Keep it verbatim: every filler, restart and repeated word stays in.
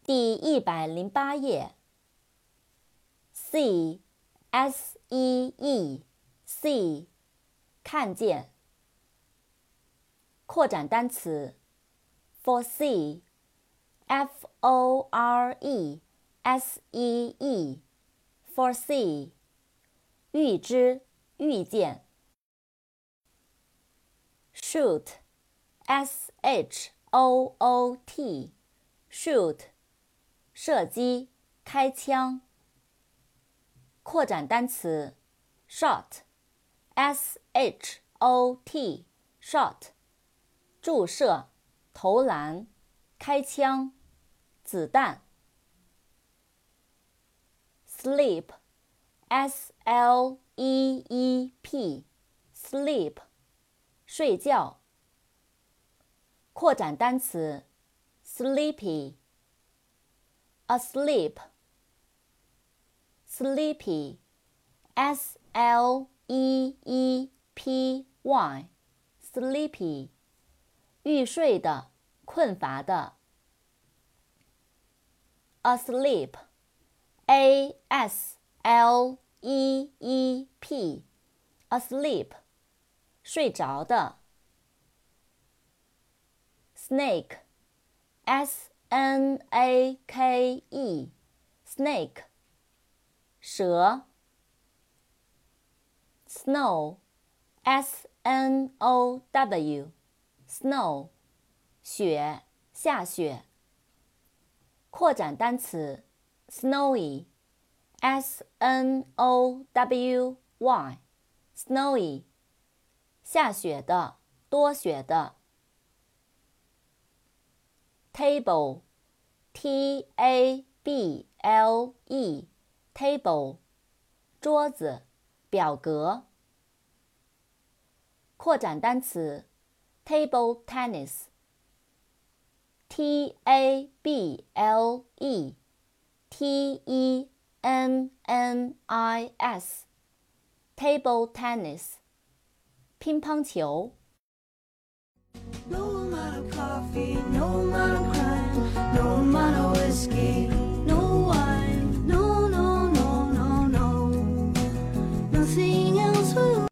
第一百零八页。See, S E E, see, 看见。扩展单词 foresee, F O R E S E E, foresee, 预知、预见。Shoot, S H O O T, shoot, 射击、开枪。扩展单词 shot, S H O T, shot, 注射、投篮、开枪、子弹。Sleep, S L E E P, sleep, 睡觉。扩展单词 sleepy, asleep, sleepy, S L E E P Y, sleepy, 欲睡的、困乏的。Asleep, A S L E E P, asleep, 睡着的。Snake, S N A K E, snake, 蛇。Snow, S N O W, snow, 雪、下雪。扩展单词 snowy, S N O W Y, snowy, 下雪的、多雪的。Table, T A B L E, table, 桌子、表格。扩展单词 table tennis, T A B L E T E N N I S, table tennis, 乒乓球。 No amount of coffee, no amount of